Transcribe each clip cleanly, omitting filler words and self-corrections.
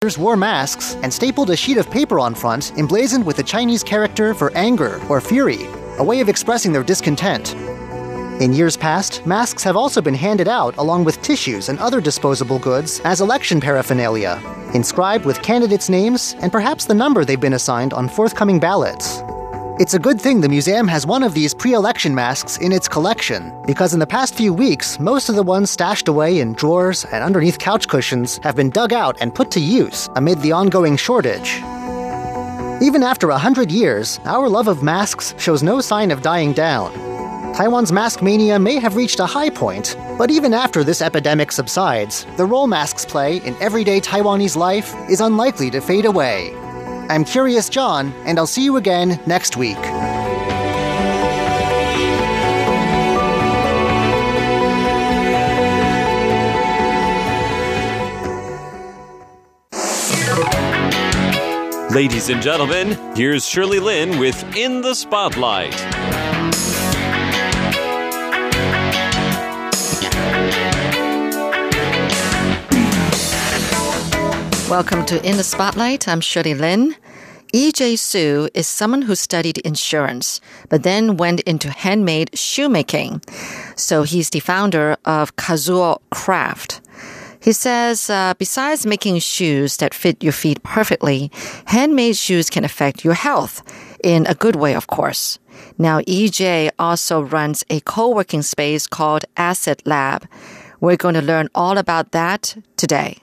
wore masks and stapled a sheet of paper on front emblazoned with the Chinese character for anger or fury, a way of expressing their discontent. In years past, masks have also been handed out along with tissues and other disposable goods as election paraphernalia, inscribed with candidates' names and perhaps the number they've been assigned on forthcoming ballots. It's a good thing the museum has one of these pre-election masks in its collection, because in the past few weeks, most of the ones stashed away in drawers and underneath couch cushions have been dug out and put to use amid the ongoing shortage. Even after 100 years, our love of masks shows no sign of dying down. Taiwan's mask mania may have reached a high point, but even after this epidemic subsides, the role masks play in everyday Taiwanese life is unlikely to fade away. I'm Curious John, and I'll see you again next week. Ladies and gentlemen, here's Shirley Lin with In the Spotlight. Welcome to In the Spotlight. I'm Shirley Lin. E.J. Su is someone who studied insurance, but then went into handmade shoemaking. So he's the founder of Kazuo Craft. He says, besides making shoes that fit your feet perfectly, handmade shoes can affect your health in a good way, of course. Now, EJ also runs a co-working space called Asset Lab. We're going to learn all about that today.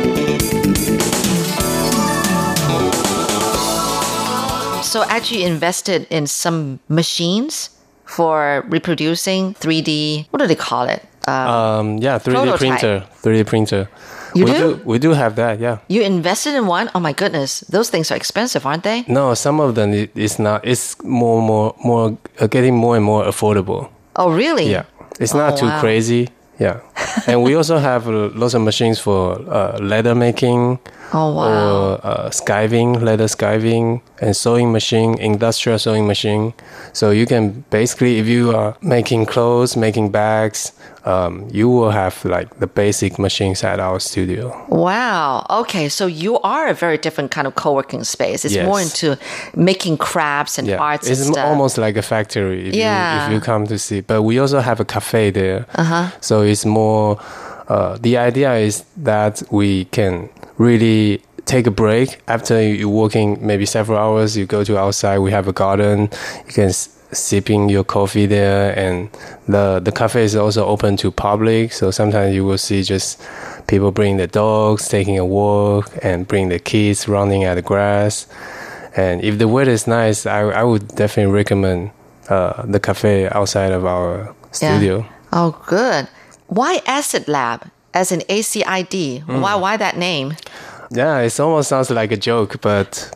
So actually invested in some machines for reproducing 3D, what do they call it? 3D prototype. printer. 3D printer. We do have that, yeah. You invested in one? Oh my goodness. Those things are expensive, aren't they? No, some of them is not. It's more getting more and more affordable. Oh, really? Yeah. It's not too crazy. Yeah. And we also have lots of machines for leather making. Oh, wow. Or skiving, leather skiving, and sewing machine, industrial sewing machine. So you can basically, if you are making clothes, making bags, you will have like the basic machines at our studio. Wow. Okay. So you are a very different kind of co-working space. It's more into making crafts and arts and stuff. It's almost like a factory if you come to see. But we also have a cafe there. So it's more, the idea is that we can really take a break after you're working maybe several hours. You go to outside, we have a garden, you can sipping your coffee there, and the cafe is also open to public, so sometimes you will see just people bring their dogs, taking a walk, and bring the kids running at the grass. And if the weather is nice, I would definitely recommend the cafe outside of our studio. Yeah. Oh, good. Why Asset Lab? As in ACID. Why that name? Yeah, it almost sounds like a joke, but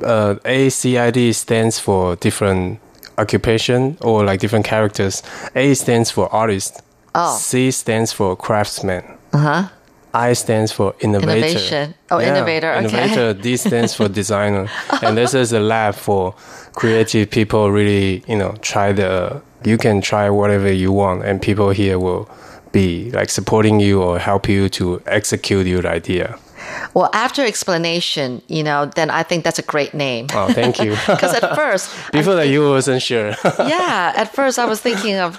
ACID stands for different occupation or like different characters. A stands for artist. Oh. C stands for craftsman. I stands for innovator. Innovation. Oh, innovator. Okay. Innovator. D stands for designer. And this is a lab for creative people. Really, you can try whatever you want, and people here will be like supporting you or help you to execute your idea. Well, after explanation, then I think that's a great name. Oh, thank you. Because at first... Before that, you wasn't sure. Yeah, at first I was thinking of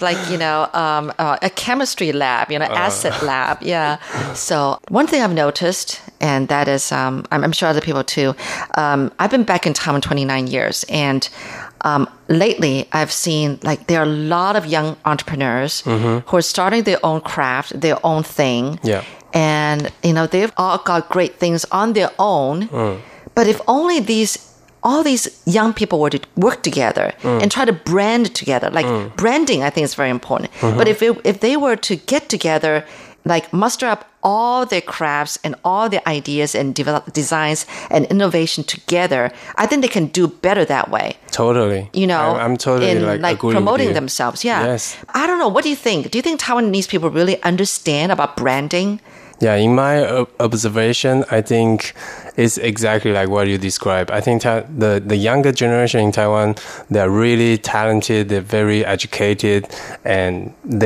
a chemistry lab, asset lab. Yeah. So one thing I've noticed, and that is, I'm sure other people too, I've been back in Taiwan 29 years, and lately I've seen there are a lot of young entrepreneurs who are starting their own craft, their own thing. Yeah. And, they've all got great things on their own. But if only all these young people were to work together and try to brand together, branding, I think is very important. But if they were to get together, muster up all their crafts and all their ideas and develop designs and innovation together, I think they can do better that way. Totally. I'm totally in agree promoting with you. themselves. Yeah. Yes. I don't know. What do you think? Do you think Taiwanese people really understand about branding? Yeah, in my observation, I think it's exactly like what you described. I think the younger generation in Taiwan, they're really talented, they're very educated, and they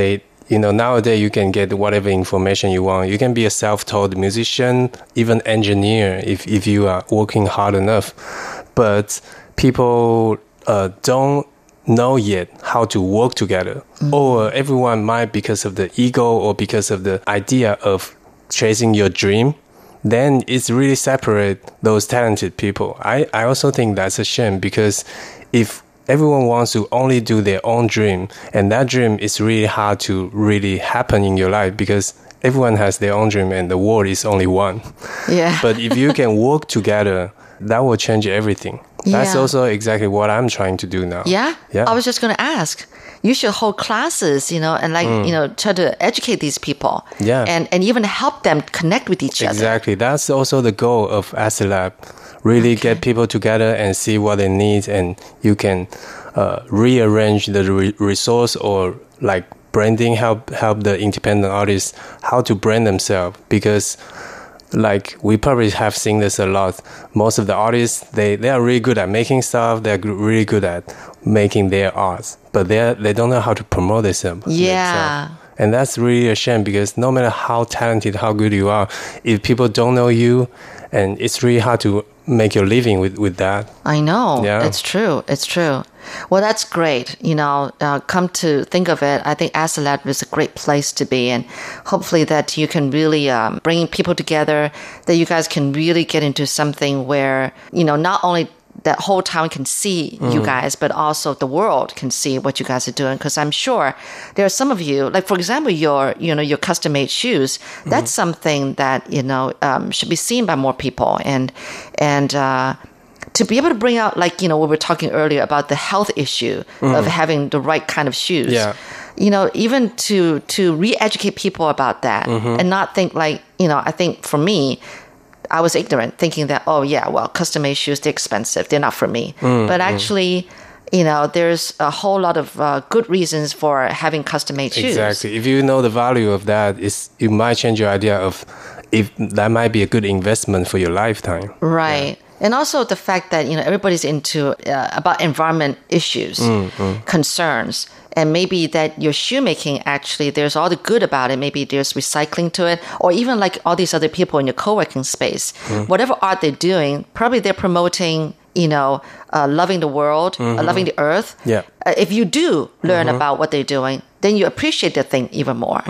nowadays you can get whatever information you want. You can be a self-taught musician, even engineer if you are working hard enough. But people don't know yet how to work together. Or everyone might, because of the ego or because of the idea of chasing your dream, then it's really separate those talented people. I also think that's a shame, because if everyone wants to only do their own dream, and that dream is really hard to really happen in your life, because everyone has their own dream and the world is only one. Yeah. But if you can work together, that will change everything. That's also exactly what I'm trying to do now. Yeah? I was just going to ask. You should hold classes, and try to educate these people. Yeah. And even help them connect with each other. Exactly. That's also the goal of Acid Lab. Really get people together and see what they need, and you can rearrange the resource or like branding, help the independent artists how to brand themselves, because like we probably have seen this a lot. Most of the artists, they are really good at making stuff, they're really good at making their art, but they don't know how to promote themselves. And that's really a shame, because no matter how talented, how good you are, if people don't know you, and it's really hard to make your living with that. I know. Yeah. It's true. Well, that's great. Come to think of it, I think Acid Lab is a great place to be, and hopefully that you can really bring people together, that you guys can really get into something where, not only that whole town can see you guys, but also the world can see what you guys are doing. Because I'm sure there are some of you, like for example, your custom-made shoes. That's something that should be seen by more people, and to be able to bring out, like we were talking earlier about the health issue of having the right kind of shoes. Yeah. Even to re-educate people about that, and not think like I think for me, I was ignorant, thinking that, custom-made shoes, they're expensive, they're not for me. But actually, there's a whole lot of good reasons for having custom-made shoes. Exactly. If you know the value of that, it might change your idea of if that might be a good investment for your lifetime. Right. Yeah. And also the fact that, everybody's into about environment issues, concerns. And maybe that your shoemaking, actually, there's all the good about it. Maybe there's recycling to it. Or even like all these other people in your co-working space. Whatever art they're doing, probably they're promoting, loving the world, loving the earth. Yeah. If you do learn about what they're doing, then you appreciate the thing even more,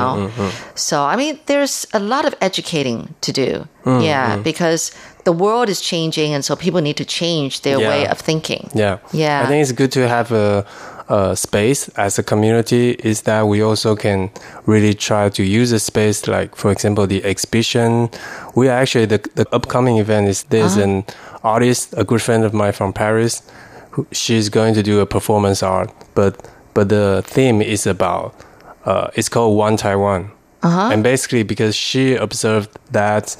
So, I mean, there's a lot of educating to do. Because the world is changing, and so people need to change their way of thinking. Yeah. I think it's good to have a space as a community, is that we also can really try to use a space, like, for example, the exhibition. We are actually, the upcoming event is, there's an artist, a good friend of mine from Paris, she's going to do a performance art, but the theme is about, it's called One Taiwan. And basically, because she observed that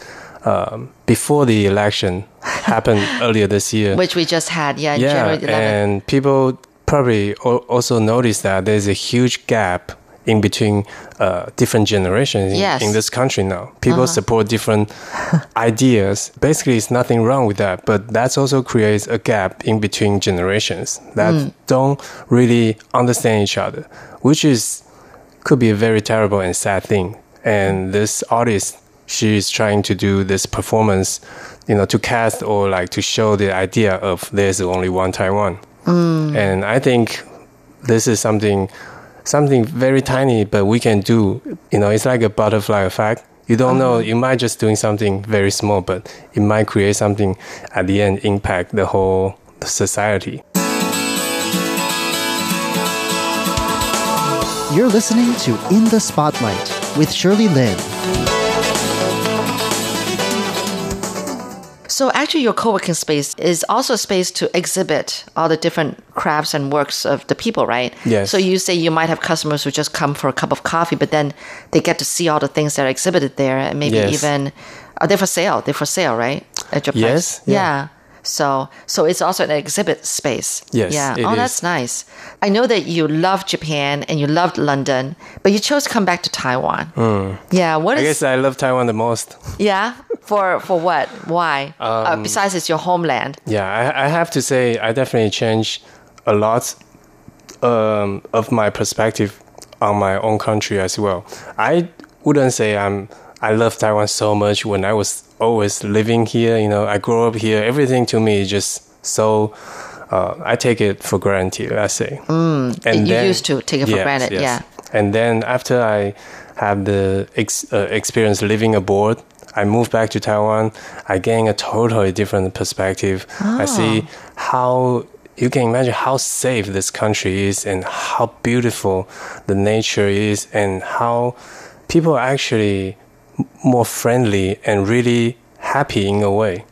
before the election happened earlier this year, which we just had, January 11th. And people probably also noticed that there's a huge gap in between different generations in this country now. People support different ideas. Basically, it's nothing wrong with that, but that also creates a gap in between generations that don't really understand each other, which could be a very terrible and sad thing. And this artist, she's trying to do this performance, to cast or like to show the idea of there's only one Taiwan. And I think this is something very tiny, but we can do. It's like a butterfly effect. You don't know, you might just doing something very small, but it might create something at the end, impact the whole society. You're listening to In the Spotlight with Shirley Lin. So actually your co-working space is also a space to exhibit all the different crafts and works of the people, right? Yes. So you say you might have customers who just come for a cup of coffee, but then they get to see all the things that are exhibited there, and maybe even, are they for sale? They're for sale, right? At your place? Yes. Yeah. So it's also an exhibit space. Yes. Yeah. It is. That's nice. I know that you love Japan and you loved London, but you chose to come back to Taiwan. Yeah. I guess I love Taiwan the most. Yeah. For what? Why? Besides, it's your homeland. Yeah. I have to say, I definitely changed a lot of my perspective on my own country as well. I wouldn't say I love Taiwan so much when I was always living here. I grew up here. Everything to me is just so, I take it for granted, let's say. And you used to take it for granted, yes. yeah. And then after I have the experience living abroad, I moved back to Taiwan. I gain a totally different perspective. I see how you can imagine how safe this country is and how beautiful the nature is and how people are actually more friendly and really happy in a way.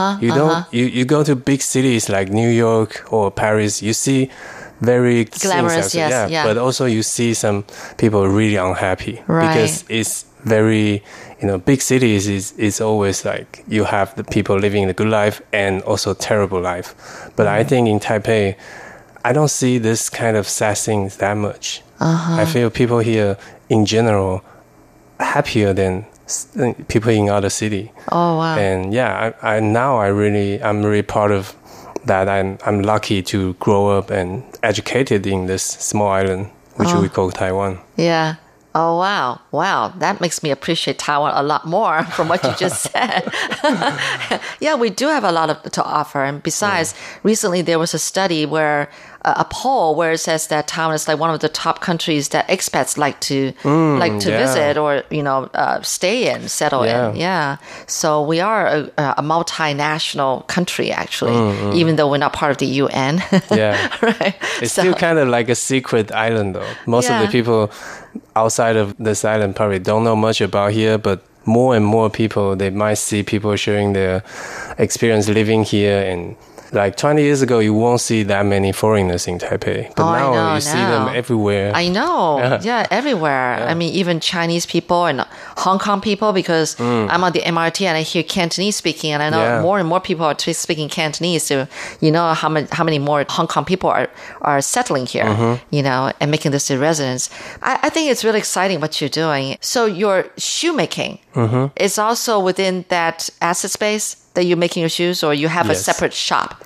You go to big cities like New York or Paris, you see very glamorous, yes, yeah. But also you see some people really unhappy because it's very, big cities is always like you have the people living the good life and also terrible life. But I think in Taipei, I don't see this kind of sad things that much. I feel people here in general happier than people in other city. Oh wow! And yeah, I'm really proud of that. I'm lucky to grow up and educated in this small island, which we call Taiwan. Yeah. Oh, wow. Wow. That makes me appreciate Taiwan a lot more from what you just said. Yeah, we do have a lot to offer. And besides, recently there was a study where a poll where it says that Taiwan is like one of the top countries that expats like to visit or, stay in, settle in. Yeah. So we are a multinational country, actually, even though we're not part of the UN. Yeah. Right. It's still kind of like a secret island, though. Most of the people outside of this island probably don't know much about here, but more and more people, they might see people sharing their experience living here. And like 20 years ago, you won't see that many foreigners in Taipei. But now you see them everywhere. I know. Yeah, everywhere. Yeah. I mean, even Chinese people and Hong Kong people, because I'm on the MRT and I hear Cantonese speaking, and I know more and more people are speaking Cantonese. So you know how many more Hong Kong people are settling here, and making this a residence. I think it's really exciting what you're doing. So your shoemaking is also within that asset space that you're making your shoes, or you have a separate shop?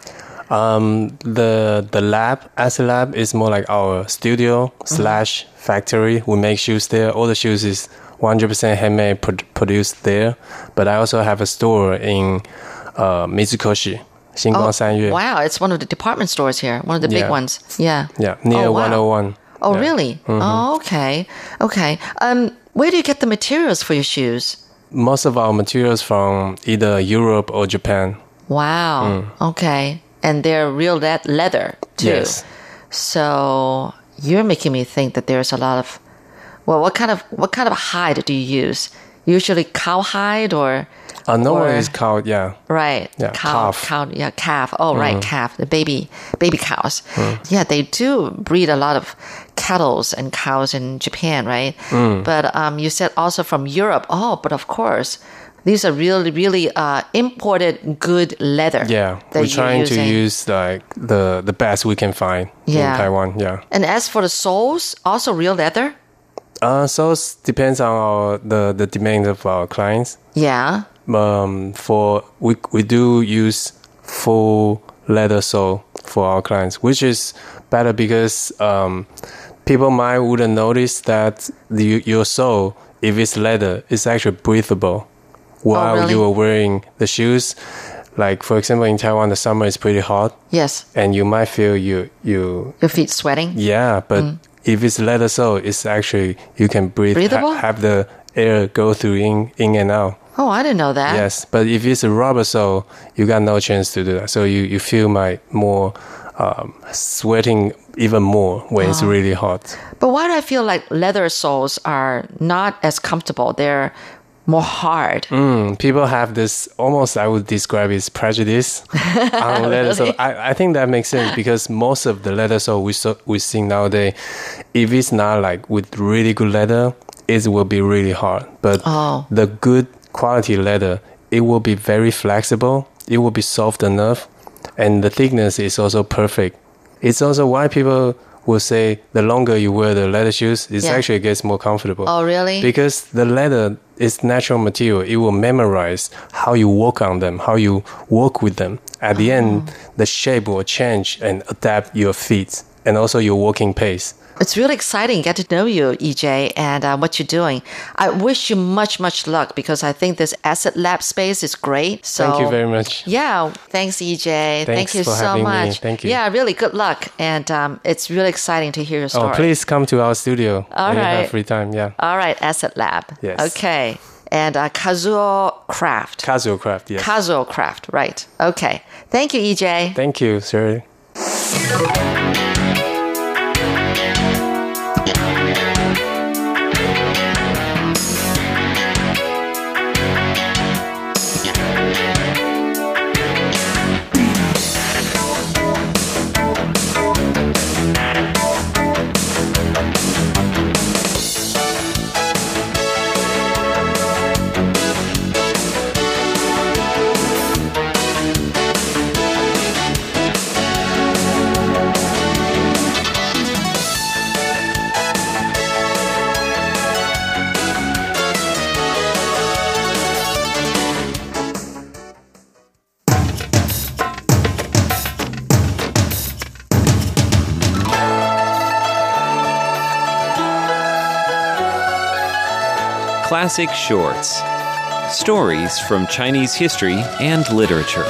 The lab, Asset Lab, is more like our studio / factory. We make shoes there. All the shoes is 100% handmade, produced there. But I also have a store in Mitsukoshi, Xinguang Sanyue. Wow, it's one of the department stores here, one of the big ones. Yeah. Yeah, near 101. Oh, really? Oh, okay. Okay. Where do you get the materials for your shoes? Most of our materials from either Europe or Japan. Wow. Okay. And they're real leather too. Yes. So you're making me think that there's a lot of, what kind of hide do you use? Usually cow hide or? Normally it's cow, yeah. Right. Yeah, calf. Calf. Oh, right, calf. The baby cows. Yeah, they do breed a lot of cattles and cows in Japan, right? But you said also from Europe. Oh, but of course, these are really, really imported good leather. Yeah, we're trying to use like the best we can find in Taiwan. Yeah. And as for the soles, also real leather? Soles depends on the demand of our clients. Yeah. We do use full leather sole for our clients, which is better because people wouldn't notice that your sole, if it's leather, is actually breathable while you are wearing the shoes. Like, for example, in Taiwan, the summer is pretty hot. Yes. And you might feel your feet sweating. Yeah, but if it's leather sole, it's actually, you can breathe, have the air go through in and out. Oh, I didn't know that. Yes, but if it's a rubber sole, you got no chance to do that. So you feel more sweating even more when it's really hot. But why do I feel like leather soles are not as comfortable? They're more hard. People have this, almost I would describe it as prejudice on leather sole. I think that makes sense because most of the leather sole we see nowadays, if it's not like with really good leather, it will be really hard. But the good quality leather, it will be very flexible. It will be soft enough. And the thickness is also perfect. It's also why people will say the longer you wear the leather shoes, it actually gets more comfortable. Oh, really? Because the leather is natural material. It will memorize how you walk on them, how you walk with them. At the end, the shape will change and adapt your feet. and also your working pace. It's really exciting. Get to know you, EJ, and what you're doing. I wish you much luck because I think this Asset Lab space is great. So thank you very much. Yeah, thanks, EJ. Thanks Thank you for so having much. Me. Thank you. Yeah, really good luck, and it's really exciting to hear your story. Oh, please come to our studio. All when right. You have free time. Yeah. All right, Asset Lab. Yes. Okay, and Kazuo Craft. Kazuo Craft. Yes. Kazuo Craft. Right. Okay. Thank you, EJ. Thank you, Shirley. Classic Shorts. Stories from Chinese history and literature.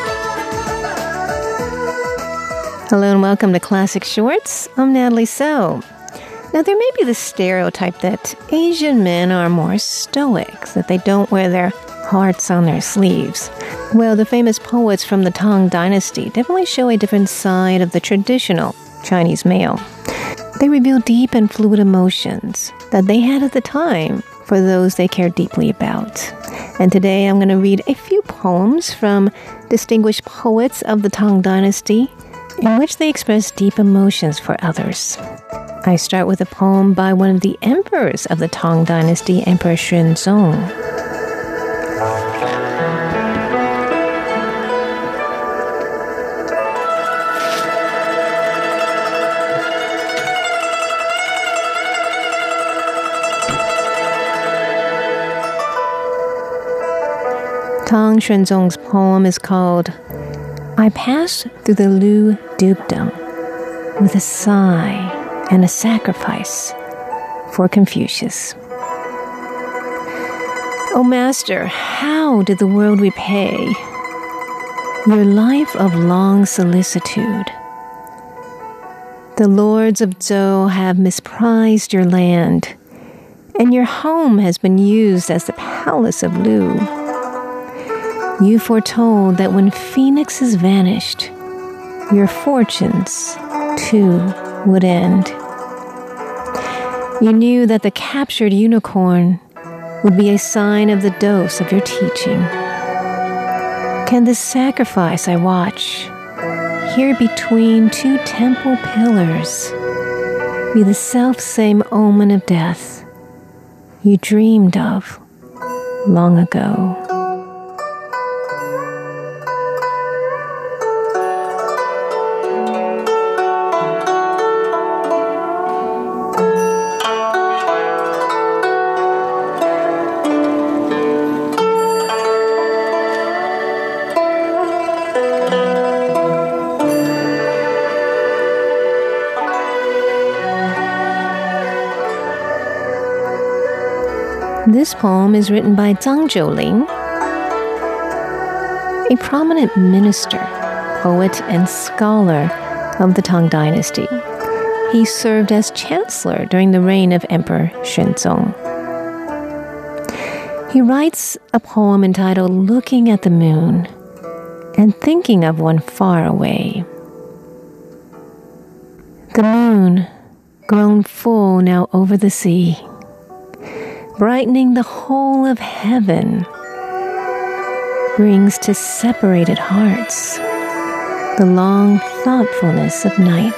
Hello and welcome to Classic Shorts. I'm Natalie So. Now, there may be the stereotype that Asian men are more stoic, that they don't wear their hearts on their sleeves. Well, the famous poets from the Tang Dynasty definitely show a different side of the traditional Chinese male. They reveal deep and fluid emotions that they had at the time for those they cared deeply about. And today I'm going to read a few poems from distinguished poets of the Tang Dynasty in which they express deep emotions for others. I start with a poem by one of the emperors of the Tang Dynasty, Emperor Xuanzong. Tang Xuanzong's poem is called I Pass Through the Lu Dukedom with a Sigh and a Sacrifice for Confucius. O Master, how did the world repay your life of long solicitude? The lords of Zhou have misprized your land, and your home has been used as the palace of Lu. You foretold that when phoenixes vanished, your fortunes, too, would end. You knew that the captured unicorn would be a sign of the dose of your teaching. Can this sacrifice I watch, here between two temple pillars, be the self-same omen of death you dreamed of long ago? This poem is written by Zhang Zhouling, a prominent minister, poet, and scholar of the Tang Dynasty. He served as chancellor during the reign of Emperor Xuanzong. He writes a poem entitled Looking at the Moon and Thinking of One Far Away. The moon, grown full now over the sea, brightening the whole of heaven, brings to separated hearts the long thoughtfulness of night.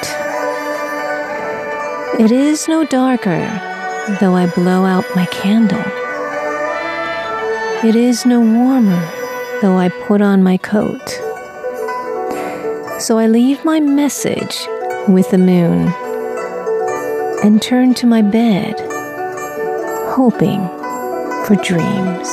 It is no darker, though I blow out my candle. It is no warmer, though I put on my coat. So I leave my message with the moon and turn to my bed, hoping for dreams.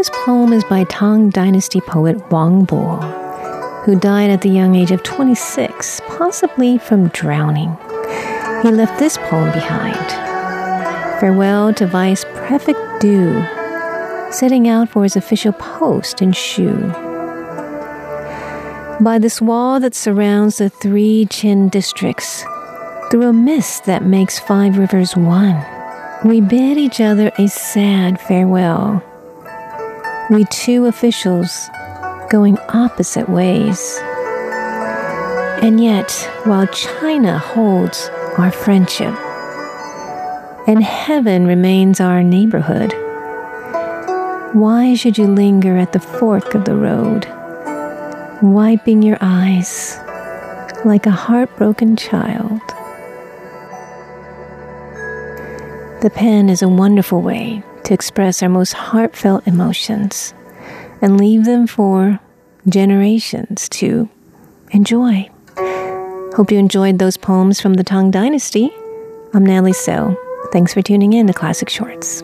Today's poem is by Tang Dynasty poet Wang Bo, who died at the young age of 26, possibly from drowning. He left this poem behind. Farewell to Vice Prefect Du, setting out for his official post in Shu. By this wall that surrounds the 3 Qin districts, through a mist that makes 5 rivers one, we bid each other a sad farewell. We 2 officials going opposite ways. And yet, while China holds our friendship, and heaven remains our neighborhood, why should you linger at the fork of the road, wiping your eyes like a heartbroken child? The pen is a wonderful way to express our most heartfelt emotions and leave them for generations to enjoy. Hope you enjoyed those poems from the Tang Dynasty. I'm Natalie So. Thanks for tuning in to Classic Shorts.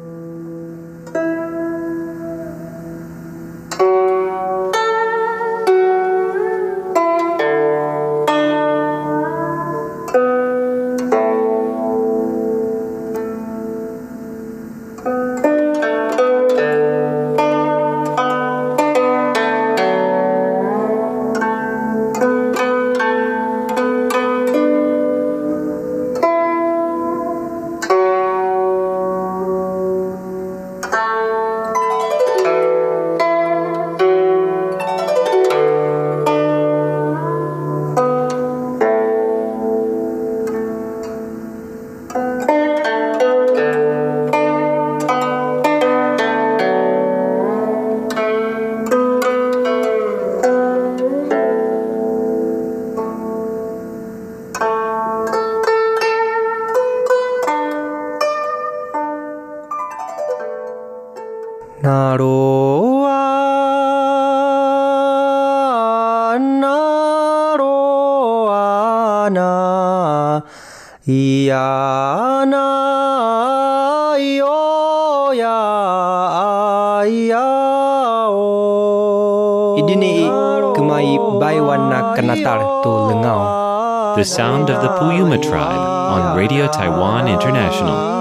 The sound of the Puyuma tribe on Radio Taiwan International.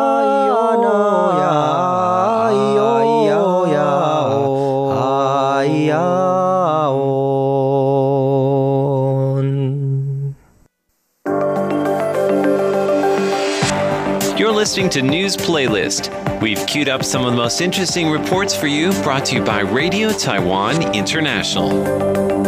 You're listening to News Playlist. We've queued up some of the most interesting reports for you, brought to you by Radio Taiwan International.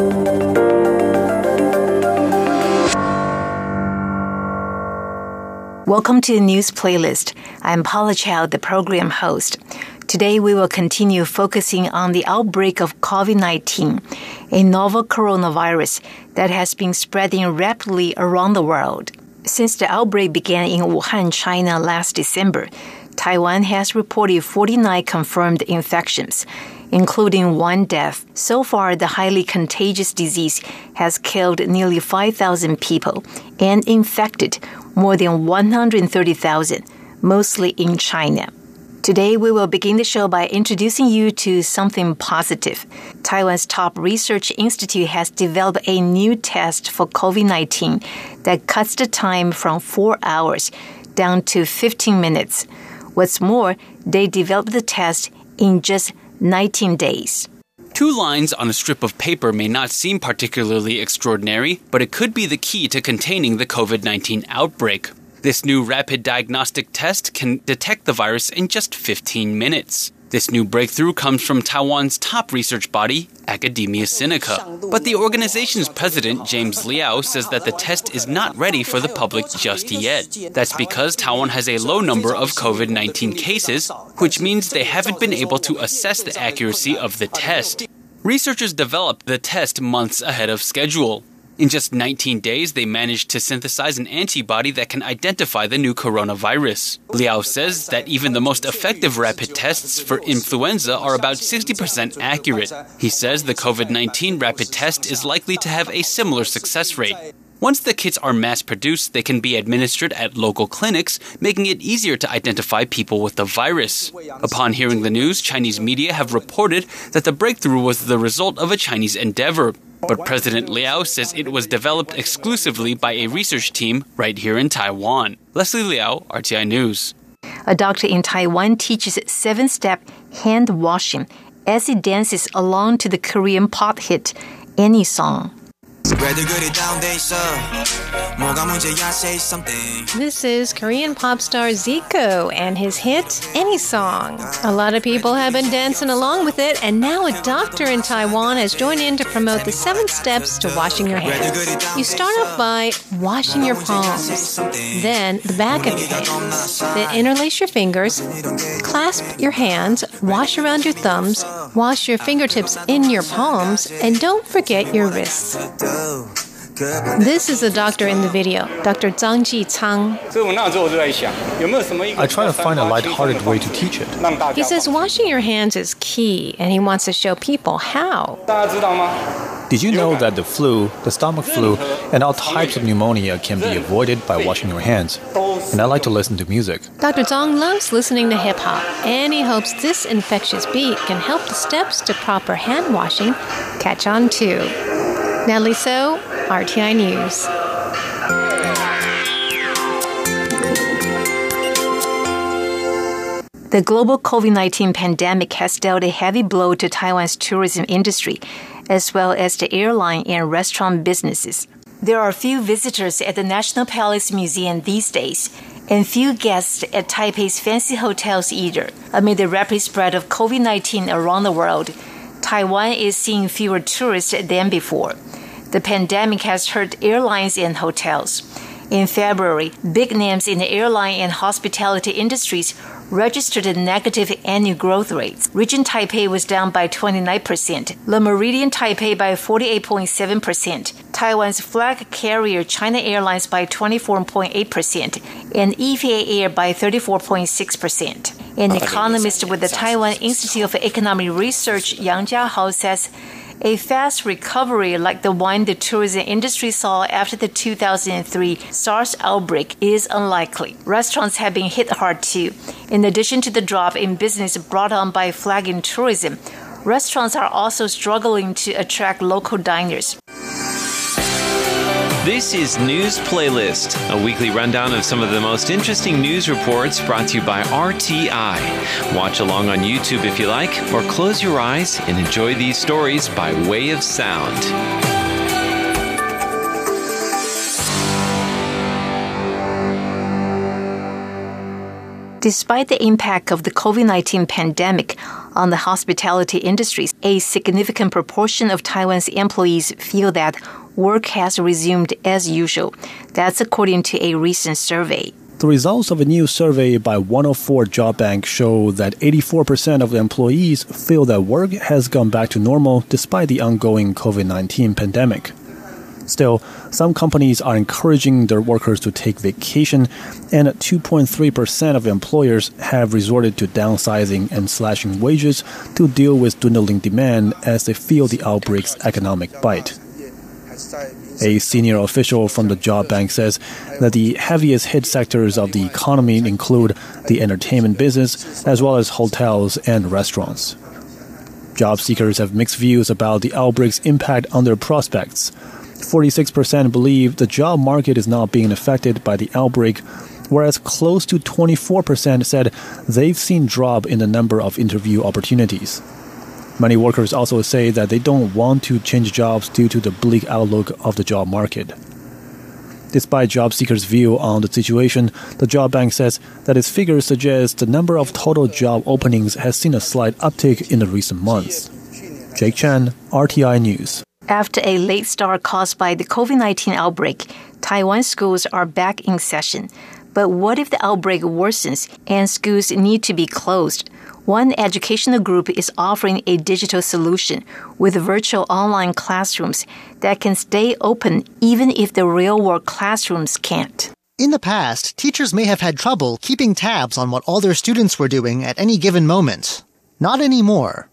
Welcome to the News Playlist. I'm Paula Chow, the program host. Today we will continue focusing on the outbreak of COVID-19, a novel coronavirus that has been spreading rapidly around the world. Since the outbreak began in Wuhan, China last December, Taiwan has reported 49 confirmed infections, including 1 death. So far, the highly contagious disease has killed nearly 5,000 people and infected more than 130,000, mostly in China. Today, we will begin the show by introducing you to something positive. Taiwan's top research institute has developed a new test for COVID-19 that cuts the time from 4 hours down to 15 minutes. What's more, they developed the test in just 19 days. 2 lines on a strip of paper may not seem particularly extraordinary, but it could be the key to containing the COVID-19 outbreak. This new rapid diagnostic test can detect the virus in just 15 minutes. This new breakthrough comes from Taiwan's top research body, Academia Sinica. But the organization's president, James Liao, says that the test is not ready for the public just yet. That's because Taiwan has a low number of COVID-19 cases, which means they haven't been able to assess the accuracy of the test. Researchers developed the test months ahead of schedule. In just 19 days, they managed to synthesize an antibody that can identify the new coronavirus. Liao says that even the most effective rapid tests for influenza are about 60% accurate. He says the COVID-19 rapid test is likely to have a similar success rate. Once the kits are mass-produced, they can be administered at local clinics, making it easier to identify people with the virus. Upon hearing the news, Chinese media have reported that the breakthrough was the result of a Chinese endeavor. But President Liao says it was developed exclusively by a research team right here in Taiwan. Leslie Liao, RTI News. A doctor in Taiwan teaches 7-step hand washing as he dances along to the Korean pop hit Any Song. This is Korean pop star Zico and his hit, Any Song. A lot of people have been dancing along with it, and now a doctor in Taiwan has joined in to promote the 7 steps to washing your hands. You start off by washing your palms, then the back of your hands, then interlace your fingers, clasp your hands, wash around your thumbs, wash your fingertips in your palms, and don't forget your wrists. This is the doctor in the video, Dr. Zhang Jichang. I try to find a lighthearted way to teach it. He says washing your hands is key, and he wants to show people how. Did you know that the flu, the stomach flu, and all types of pneumonia can be avoided by washing your hands? And I like to listen to music. Dr. Zhang loves listening to hip-hop, and he hopes this infectious beat can help the steps to proper hand washing catch on too. Natalie So, RTI News. The global COVID-19 pandemic has dealt a heavy blow to Taiwan's tourism industry, as well as the airline and restaurant businesses. There are few visitors at the National Palace Museum these days, and few guests at Taipei's fancy hotels either. Amid the rapid spread of COVID-19 around the world, Taiwan is seeing fewer tourists than before. The pandemic has hurt airlines and hotels. In February, big names in the airline and hospitality industries registered negative annual growth rates. Regent Taipei was down by 29%, Le Méridien Taipei by 48.7%, Taiwan's flag carrier China Airlines by 24.8%, and EVA Air by 34.6%. An economist with the Taiwan Institute of Economic Research, Yang Jiahao, says a fast recovery like the one the tourism industry saw after the 2003 SARS outbreak is unlikely. Restaurants have been hit hard too. In addition to the drop in business brought on by flagging tourism, restaurants are also struggling to attract local diners. This is News Playlist, a weekly rundown of some of the most interesting news reports brought to you by RTI. Watch along on YouTube if you like, or close your eyes and enjoy these stories by way of sound. Despite the impact of the COVID-19 pandemic on the hospitality industries, a significant proportion of Taiwan's employees feel that work has resumed as usual. That's according to a recent survey. The results of a new survey by 104 Job Bank show that 84% of the employees feel that work has gone back to normal despite the ongoing COVID-19 pandemic. Still, some companies are encouraging their workers to take vacation, and 2.3% of employers have resorted to downsizing and slashing wages to deal with dwindling demand as they feel the outbreak's economic bite. A senior official from the Job Bank says that the heaviest hit sectors of the economy include the entertainment business as well as hotels and restaurants. Job seekers have mixed views about the outbreak's impact on their prospects. 46% believe the job market is not being affected by the outbreak, whereas close to 24% said they've seen drop in the number of interview opportunities. Many workers also say that they don't want to change jobs due to the bleak outlook of the job market. Despite job seekers' view on the situation, the Job Bank says that its figures suggest the number of total job openings has seen a slight uptick in the recent months. Jake Chan, RTI News. After a late start caused by the COVID-19 outbreak, Taiwan schools are back in session. But what if the outbreak worsens and schools need to be closed? One educational group is offering a digital solution with virtual online classrooms that can stay open even if the real-world classrooms can't. In the past, teachers may have had trouble keeping tabs on what all their students were doing at any given moment. Not anymore.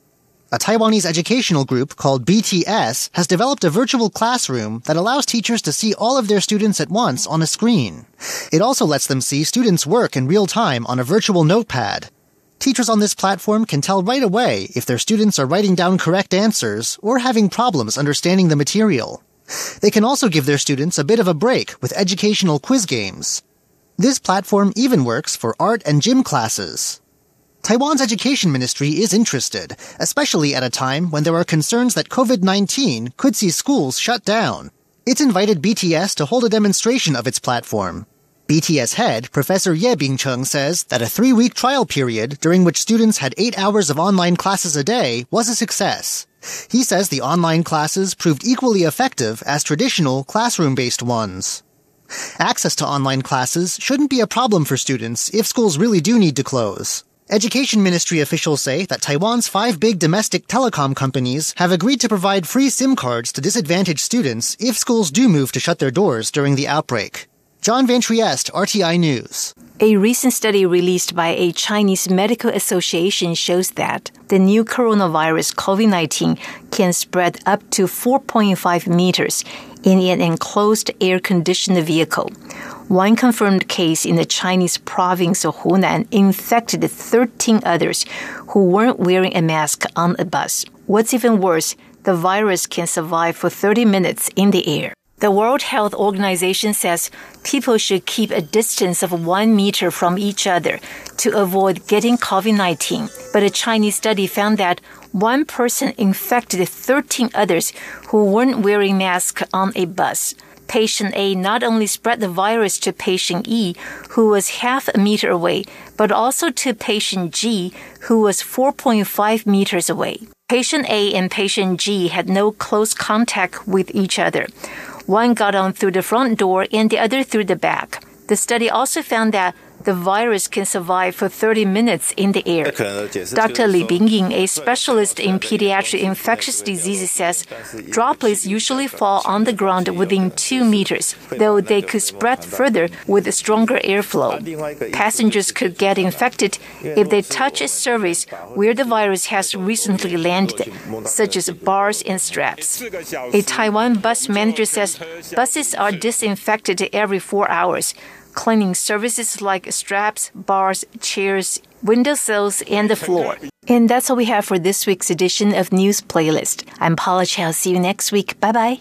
A Taiwanese educational group called BTS has developed a virtual classroom that allows teachers to see all of their students at once on a screen. It also lets them see students' work in real time on a virtual notepad. Teachers on this platform can tell right away if their students are writing down correct answers or having problems understanding the material. They can also give their students a bit of a break with educational quiz games. This platform even works for art and gym classes. Taiwan's education ministry is interested, especially at a time when there are concerns that COVID-19 could see schools shut down. It's invited BTS to hold a demonstration of its platform. BTS head, Professor Ye Bingcheng, says that a 3-week trial period during which students had 8 hours of online classes a day was a success. He says the online classes proved equally effective as traditional classroom-based ones. Access to online classes shouldn't be a problem for students if schools really do need to close. Education ministry officials say that Taiwan's 5 big domestic telecom companies have agreed to provide free SIM cards to disadvantaged students if schools do move to shut their doors during the outbreak. John Van Trieste, RTI News. A recent study released by a Chinese medical association shows that the new coronavirus COVID-19 can spread up to 4.5 meters in an enclosed air-conditioned vehicle. One confirmed case in the Chinese province of Hunan infected 13 others who weren't wearing a mask on a bus. What's even worse, the virus can survive for 30 minutes in the air. The World Health Organization says people should keep a distance of 1 meter from each other to avoid getting COVID-19. But a Chinese study found that one person infected 13 others who weren't wearing masks on a bus. Patient A not only spread the virus to patient E, who was half a meter away, but also to patient G, who was 4.5 meters away. Patient A and patient G had no close contact with each other. One got on through the front door and the other through the back. The study also found that the virus can survive for 30 minutes in the air. Dr. Li Bingying, a specialist in pediatric infectious diseases, says droplets usually fall on the ground within 2 meters, though they could spread further with stronger airflow. Passengers could get infected if they touch a surface where the virus has recently landed, such as bars and straps. A Taiwan bus manager says buses are disinfected every 4 hours. Cleaning services like straps, bars, chairs, windowsills, and the floor. And that's all we have for this week's edition of News Playlist. I'm Paula Chow. See you next week. Bye-bye.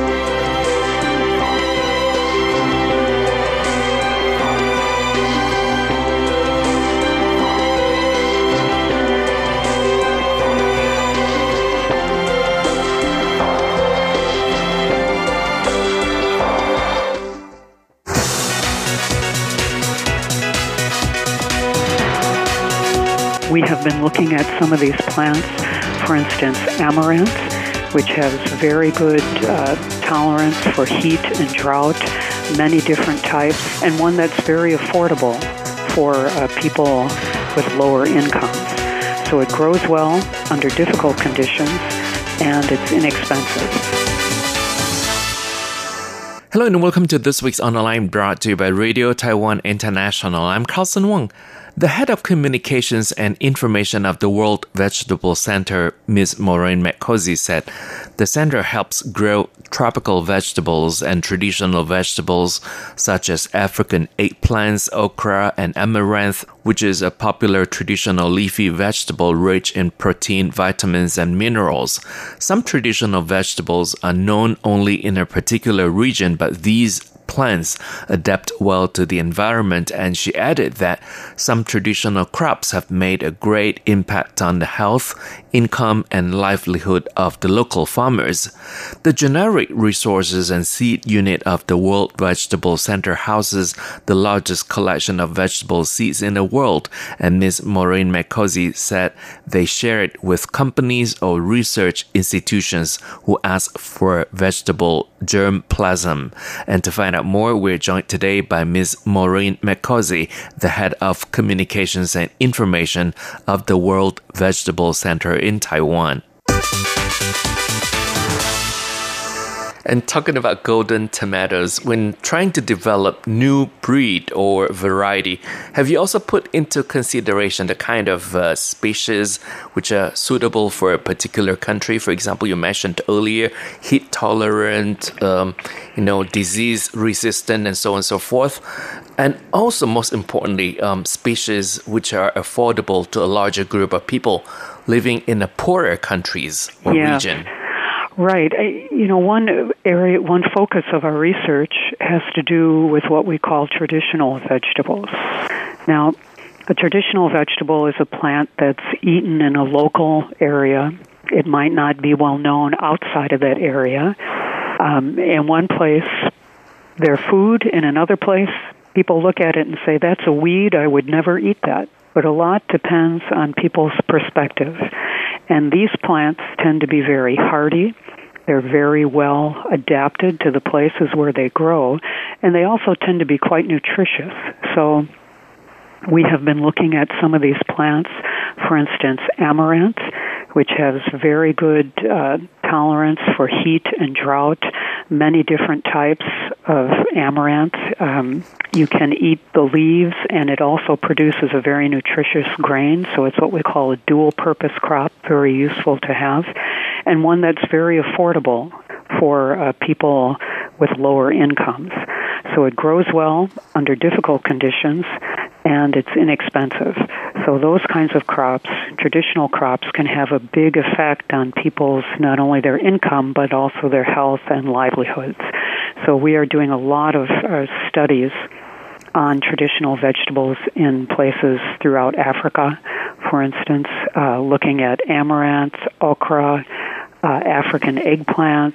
We have been looking at some of these plants, for instance, amaranth, which has very good tolerance for heat and drought, many different types, and one that's very affordable for people with lower incomes. So it grows well under difficult conditions, and it's inexpensive. Hello and welcome to this week's Online, brought to you by Radio Taiwan International. I'm Carlson Wong. The head of communications and information of the World Vegetable Center, Ms. Maureen McCosy, said the center helps grow tropical vegetables and traditional vegetables such as African eggplants, okra, and amaranth, which is a popular traditional leafy vegetable rich in protein, vitamins, and minerals. Some traditional vegetables are known only in a particular region, but these plants adapt well to the environment, and she added that some traditional crops have made a great impact on the health, income, and livelihood of the local farmers. The Generic Resources and Seed Unit of the World Vegetable Center houses the largest collection of vegetable seeds in the world, and Ms. Maureen McCosy said they share it with companies or research institutions who ask for vegetable germplasm. And to find out more, we're joined today by Ms. Maureen McCosy, the head of communications and information of the World Vegetable Center in Taiwan. And talking about golden tomatoes, when trying to develop new breed or variety, have you also put into consideration the kind of species which are suitable for a particular country? For example, you mentioned earlier, heat tolerant, disease resistant, and so on and so forth. And also, most importantly, species which are affordable to a larger group of people living in the poorer countries or region. Right. One focus of our research has to do with what we call traditional vegetables. Now, a traditional vegetable is a plant that's eaten in a local area. It might not be well known outside of that area. In one place, they're food. In another place, people look at it and say, that's a weed, I would never eat that. But a lot depends on people's perspective. And these plants tend to be very hardy. They're very well adapted to the places where they grow. And they also tend to be quite nutritious. So we have been looking at some of these plants. For instance, amaranth, which has very good tolerance for heat and drought. Many different types of amaranth. You can eat the leaves, and it also produces a very nutritious grain, so it's what we call a dual-purpose crop, very useful to have, and one that's very affordable for people with lower incomes. So it grows well under difficult conditions, and it's inexpensive. So those kinds of crops, traditional crops, can have a big effect on people's, not only their income, but also their health and livelihoods. So we are doing a lot of studies on traditional vegetables in places throughout Africa, for instance, looking at amaranth, okra, African eggplant.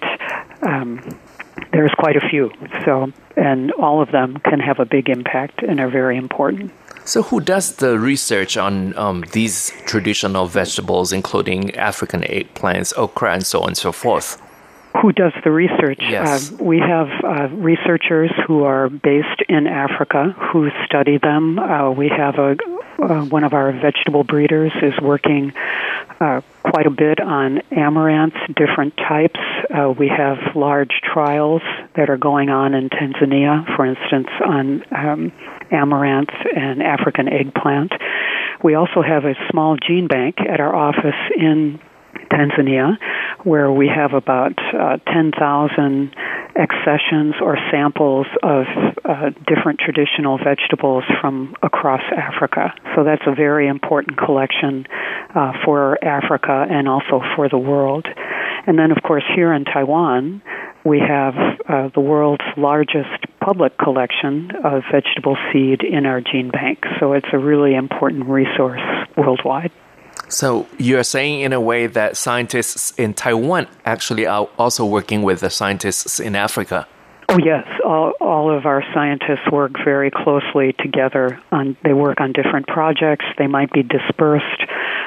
There's quite a few. So, and all of them can have a big impact and are very important. So who does the research on these traditional vegetables, including African eggplants, okra, and so on and so forth? Who does the research? Yes. We have researchers who are based in Africa who study them. We have one of our vegetable breeders is working quite a bit on amaranth, different types. We have large trials that are going on in Tanzania, for instance, on amaranth and African eggplant. We also have a small gene bank at our office in Tanzania, where we have about 10,000 accessions or samples of different traditional vegetables from across Africa. So that's a very important collection for Africa and also for the world. And then, of course, here in Taiwan, we have the world's largest public collection of vegetable seed in our gene bank. So it's a really important resource worldwide. So you're saying in a way that scientists in Taiwan actually are also working with the scientists in Africa? Oh, yes. All of our scientists work very closely together. They work on different projects. They might be dispersed,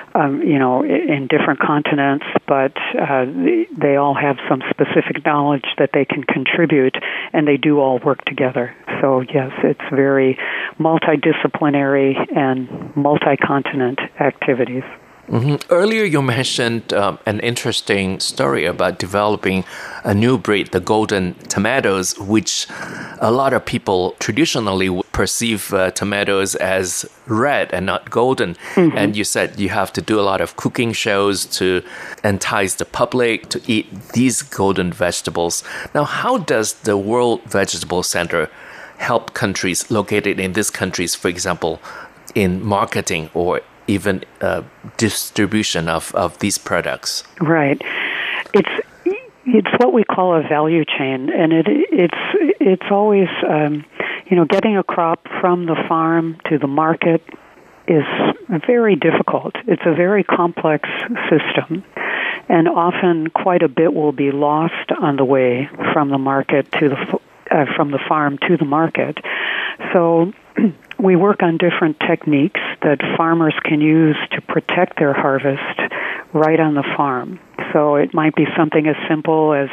in different continents, but they all have some specific knowledge that they can contribute, and they do all work together. So, yes, it's very multidisciplinary and multi-continent activities. Mm-hmm. Earlier, you mentioned an interesting story about developing a new breed, the golden tomatoes, which a lot of people traditionally perceive tomatoes as red and not golden. Mm-hmm. And you said you have to do a lot of cooking shows to entice the public to eat these golden vegetables. Now, how does the World Vegetable Center help countries located in these countries, for example, in marketing or even distribution of these products? Right. It's what we call a value chain, and it's always getting a crop from the farm to the market is very difficult. It's a very complex system, and often quite a bit will be lost on the way from the market to from the farm to the market. So we work on different techniques that farmers can use to protect their harvest right on the farm. So it might be something as simple as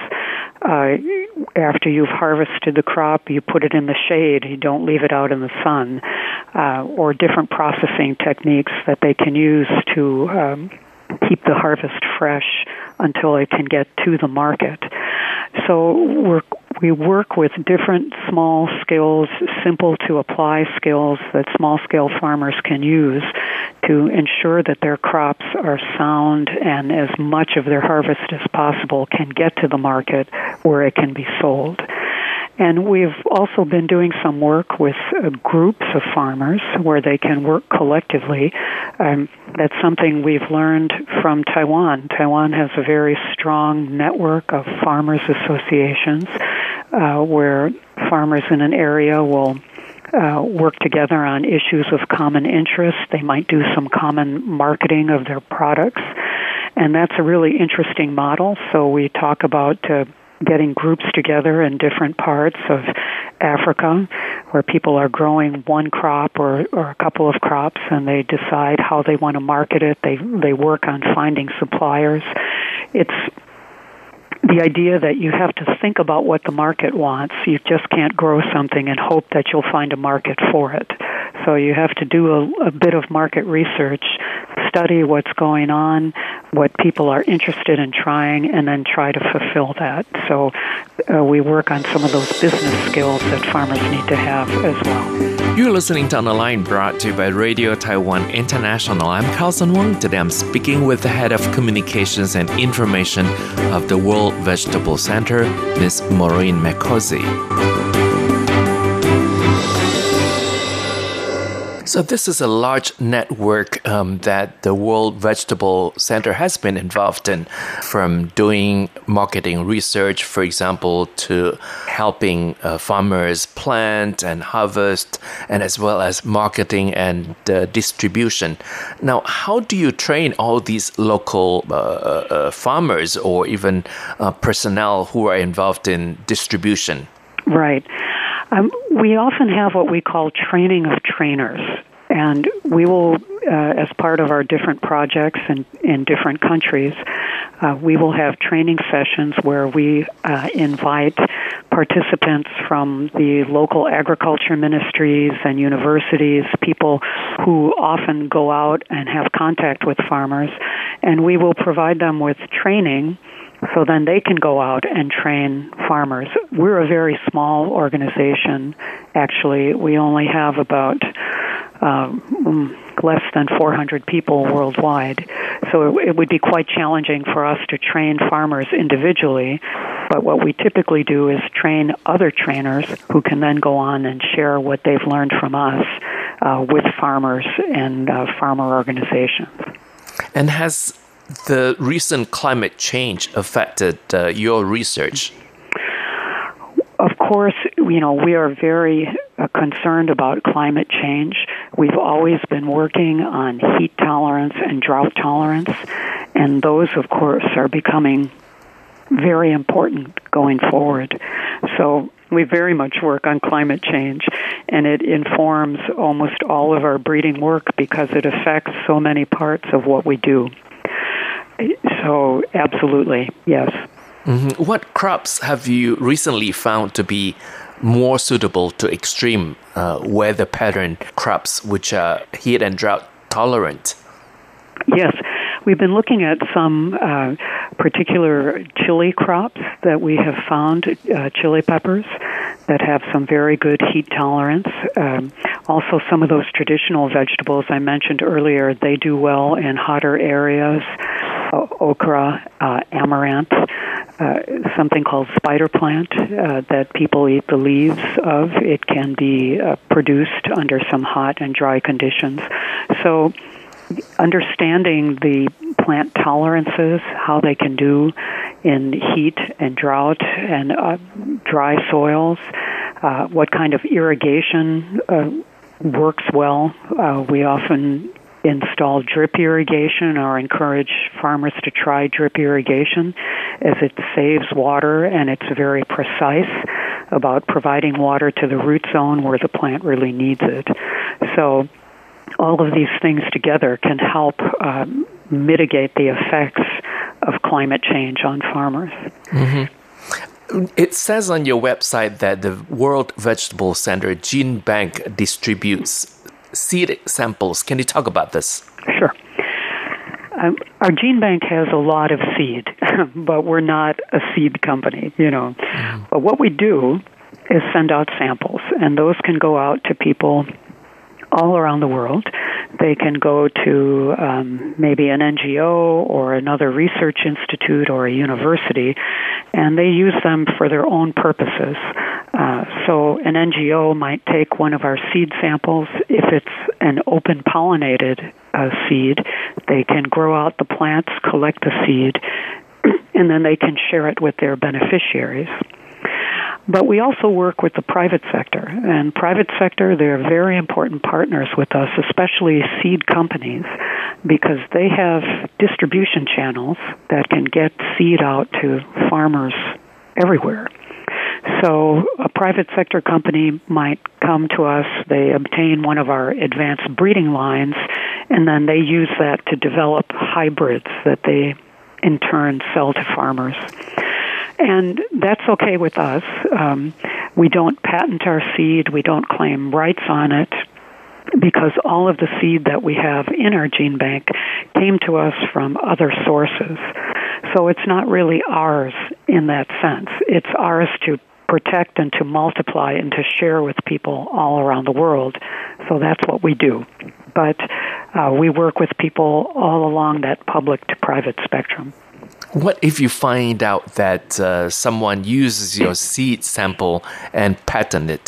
after you've harvested the crop, you put it in the shade, you don't leave it out in the sun, or different processing techniques that they can use to keep the harvest fresh until it can get to the market. So we work with different small skills, simple to apply skills that small-scale farmers can use to ensure that their crops are sound and as much of their harvest as possible can get to the market where it can be sold. And we've also been doing some work with groups of farmers where they can work collectively. That's something we've learned from Taiwan. Taiwan has a very strong network of farmers' associations where farmers in an area will work together on issues of common interest. They might do some common marketing of their products. And that's a really interesting model. So we talk about getting groups together in different parts of Africa where people are growing one crop or a couple of crops, and they decide how they want to market it. They work on finding suppliers. It's the idea that you have to think about what the market wants. You just can't grow something and hope that you'll find a market for it. So you have to do a bit of market research, study what's going on, what people are interested in trying, and then try to fulfill that. So we work on some of those business skills that farmers need to have as well. You're listening to On the Line, brought to you by Radio Taiwan International. I'm Carlson Wong. Today I'm speaking with the head of communications and information of the World Vegetable Center, Ms. Maureen McCausey. So this is a large network that the World Vegetable Center has been involved in, from doing marketing research, for example, to helping farmers plant and harvest, and as well as marketing and distribution. Now, how do you train all these local farmers or even personnel who are involved in distribution? Right. We often have what we call training of trainers, and we will, as part of our different projects in different countries, we will have training sessions where we invite participants from the local agriculture ministries and universities, people who often go out and have contact with farmers, and we will provide them with training so then they can go out and train farmers. We're a very small organization, actually. We only have about less than 400 people worldwide. So it would be quite challenging for us to train farmers individually. But what we typically do is train other trainers who can then go on and share what they've learned from us with farmers and farmer organizations. And has the recent climate change affected your research? Of course, we are very concerned about climate change. We've always been working on heat tolerance and drought tolerance, and those, of course, are becoming very important going forward. So we very much work on climate change, and it informs almost all of our breeding work because it affects so many parts of what we do. So, absolutely, yes. Mm-hmm. What crops have you recently found to be more suitable to extreme weather pattern crops, which are heat and drought tolerant? Yes, we've been looking at some particular chili crops that we have found, chili peppers, that have some very good heat tolerance. Also, some of those traditional vegetables I mentioned earlier, they do well in hotter areas. Okra, amaranth, something called spider plant that people eat the leaves of. It can be produced under some hot and dry conditions. So understanding the plant tolerances, how they can do in heat and drought and dry soils, what kind of irrigation works well. We often install drip irrigation or encourage farmers to try drip irrigation as it saves water and it's very precise about providing water to the root zone where the plant really needs it. So all of these things together can help mitigate the effects of climate change on farmers. Mm-hmm. It says on your website that the World Vegetable Center Gene Bank distributes seed samples. Can you talk about this? Sure. our gene bank has a lot of seed, but we're not a seed company, But what we do is send out samples, and those can go out to people all around the world. They can go to maybe an NGO or another research institute or a university, and they use them for their own purposes. So an NGO might take one of our seed samples. If it's an open pollinated seed, they can grow out the plants, collect the seed, and then they can share it with their beneficiaries. But we also work with the private sector. And private sector, they're very important partners with us, especially seed companies, because they have distribution channels that can get seed out to farmers everywhere. So a private sector company might come to us, they obtain one of our advanced breeding lines, and then they use that to develop hybrids that they in turn sell to farmers. And that's okay with us. We don't patent our seed. We don't claim rights on it, because all of the seed that we have in our gene bank came to us from other sources. So it's not really ours in that sense. It's ours to protect and to multiply and to share with people all around the world. So that's what we do. But we work with people all along that public to private spectrum. What if you find out that someone uses your seed sample and patent it?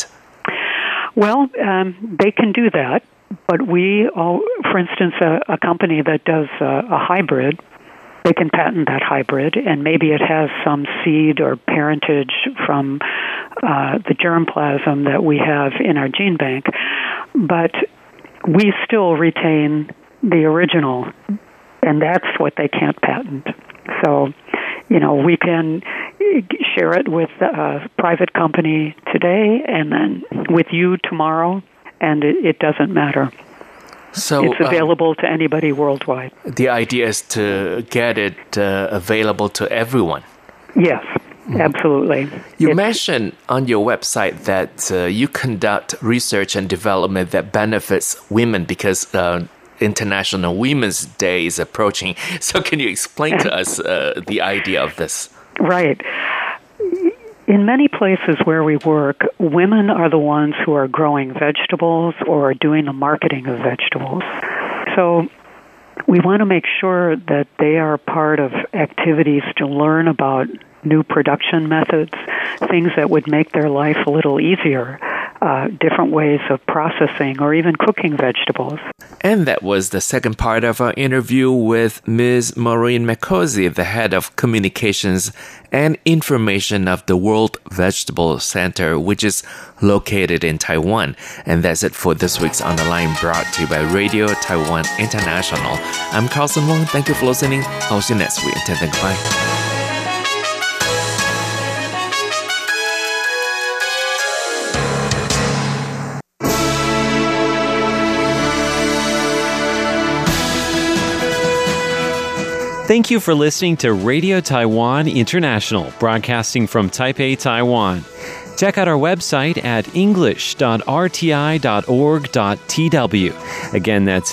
Well, they can do that, but for instance, a company that does a hybrid, they can patent that hybrid, and maybe it has some seed or parentage from the germplasm that we have in our gene bank, but we still retain the original, and that's what they can't patent. So, we can share it with a private company today and then with you tomorrow, and it doesn't matter. So it's available to anybody worldwide. The idea is to get it available to everyone. Yes, absolutely. You mentioned on your website that you conduct research and development that benefits women because International Women's Day is approaching. So can you explain to us the idea of this? Right. In many places where we work, women are the ones who are growing vegetables or doing the marketing of vegetables. So we want to make sure that they are part of activities to learn about new production methods, things that would make their life a little easier, different ways of processing or even cooking vegetables. And that was the second part of our interview with Ms. Maureen McCosey, the head of communications and information of the World Vegetable Center, which is located in Taiwan. And that's it for this week's On the Line, brought to you by Radio Taiwan International. I'm Carlson Wong. Thank you for listening. I'll see you next week. Until then, goodbye. Thank you for listening to Radio Taiwan International, broadcasting from Taipei, Taiwan. Check out our website at english.rti.org.tw. Again, that's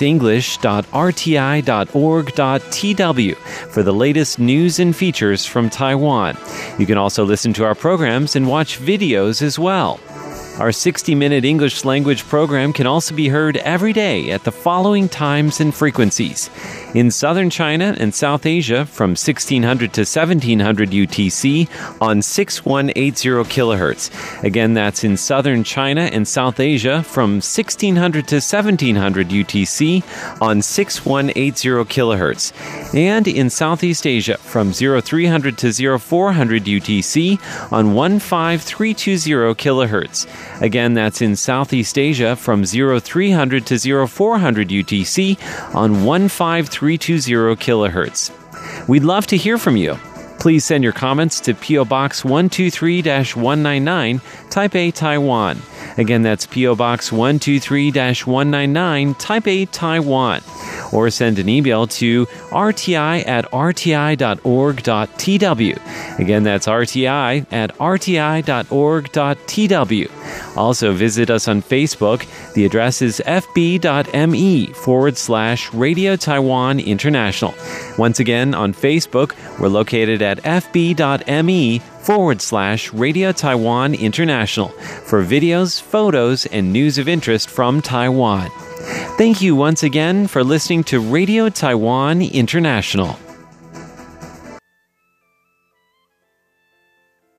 english.rti.org.tw for the latest news and features from Taiwan. You can also listen to our programs and watch videos as well. Our 60-minute English language program can also be heard every day at the following times and frequencies. In southern China and South Asia from 1600 to 1700 UTC on 6180 kHz. Again, that's in southern China and South Asia from 1600 to 1700 UTC on 6180 kHz. And in Southeast Asia from 0300 to 0400 UTC on 15320 kHz. Again, that's in Southeast Asia from 0300 to 0400 UTC on 15320 kHz. We'd love to hear from you. Please send your comments to P.O. Box 123-199, Taipei, Taiwan. Again, that's P.O. Box 123-199, Taipei, Taiwan. Or send an email to rti@rti.org.tw. Again, that's rti@rti.org.tw. Also, visit us on Facebook. The address is fb.me/Radio Taiwan International. Once again, on Facebook, we're located at fb.me/Radio Taiwan International for videos, photos, and news of interest from Taiwan. Thank you once again for listening to Radio Taiwan International.